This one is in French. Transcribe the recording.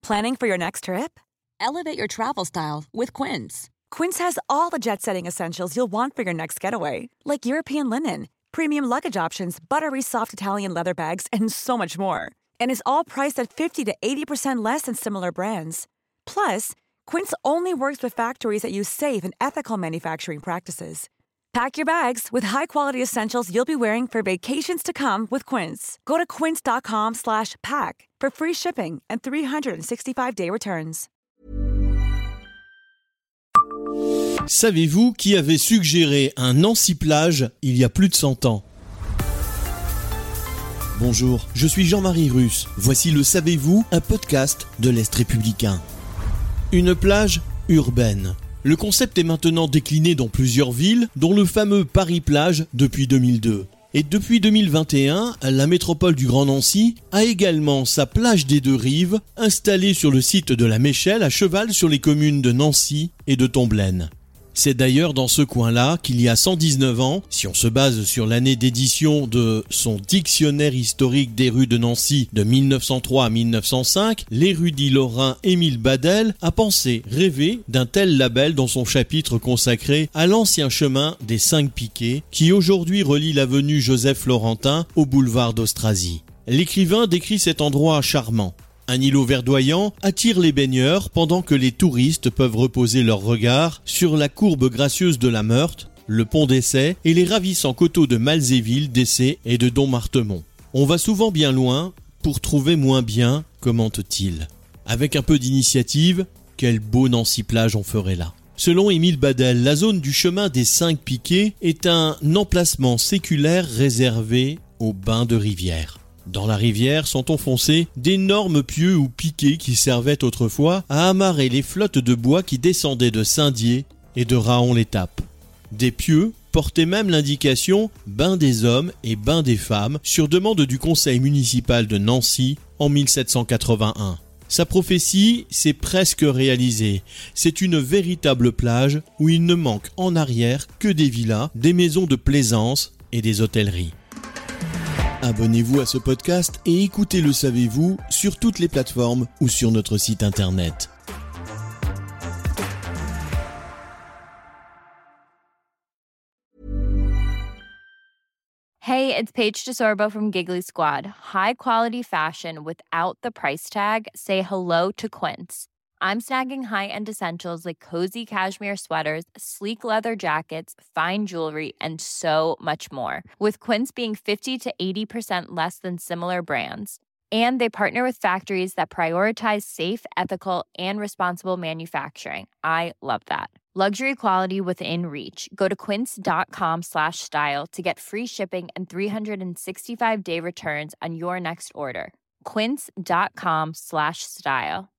Planning for your next trip? Elevate your travel style with Quince. Quince has all the jet-setting essentials you'll want for your next getaway, like European linen, premium luggage options, buttery soft Italian leather bags, and so much more. And is all priced at 50 to 80% less than similar brands. Plus, Quince only works with factories that use safe and ethical manufacturing practices. Pack your bags with high-quality essentials you'll be wearing for vacations to come with Quince. Go to quince.com/pack for free shipping and 365-day returns. Savez-vous qui avait suggéré un Nancy-Plage il y a plus de 100 ans ? Bonjour, je suis Jean-Marie Russe. Voici le Savez-vous, un podcast de l'Est républicain. Une plage urbaine. Le concept est maintenant décliné dans plusieurs villes, dont le fameux Paris-Plage depuis 2002. Et depuis 2021, la métropole du Grand Nancy a également sa plage des deux rives, installée sur le site de la Méchelle, à cheval sur les communes de Nancy et de Tomblaine. C'est d'ailleurs dans ce coin-là qu'il y a 119 ans, si on se base sur l'année d'édition de son dictionnaire historique des rues de Nancy de 1903 à 1905, l'érudit lorrain Émile Badel a pensé, rêvé d'un tel label dans son chapitre consacré à l'ancien chemin des 5 Piquets qui aujourd'hui relie l'avenue Joseph-Florentin au boulevard d'Austrasie. L'écrivain décrit cet endroit charmant. Un îlot verdoyant attire les baigneurs pendant que les touristes peuvent reposer leur regard sur la courbe gracieuse de la Meurthe, le pont d'Essai et les ravissants coteaux de Malzéville, d'Essai et de Dommartemont. On va souvent bien loin pour trouver moins bien, commente-t-il. Avec un peu d'initiative, quel beau Nancy-Plage on ferait là. Selon Émile Badel, la zone du chemin des 5 Piquets est un emplacement séculaire réservé aux bains de rivière. Dans la rivière sont enfoncés d'énormes pieux ou piquets qui servaient autrefois à amarrer les flottes de bois qui descendaient de Saint-Dié et de Raon-l'Étape. Des pieux portaient même l'indication « bain des hommes » et « bain des femmes » sur demande du conseil municipal de Nancy en 1781. Sa prophétie s'est presque réalisée. C'est une véritable plage où il ne manque en arrière que des villas, des maisons de plaisance et des hôtelleries. Abonnez-vous à ce podcast et écoutez Le Savez-vous sur toutes les plateformes ou sur notre site internet. Hey, it's Paige DeSorbo from Giggly Squad. High quality fashion without the price tag. Say hello to Quince. I'm snagging high-end essentials like cozy cashmere sweaters, sleek leather jackets, fine jewelry, and so much more. With Quince being 50 to 80% less than similar brands. And they partner with factories that prioritize safe, ethical, and responsible manufacturing. I love that. Luxury quality within reach. Go to quince.com/style to get free shipping and 365-day returns on your next order. Quince.com/style.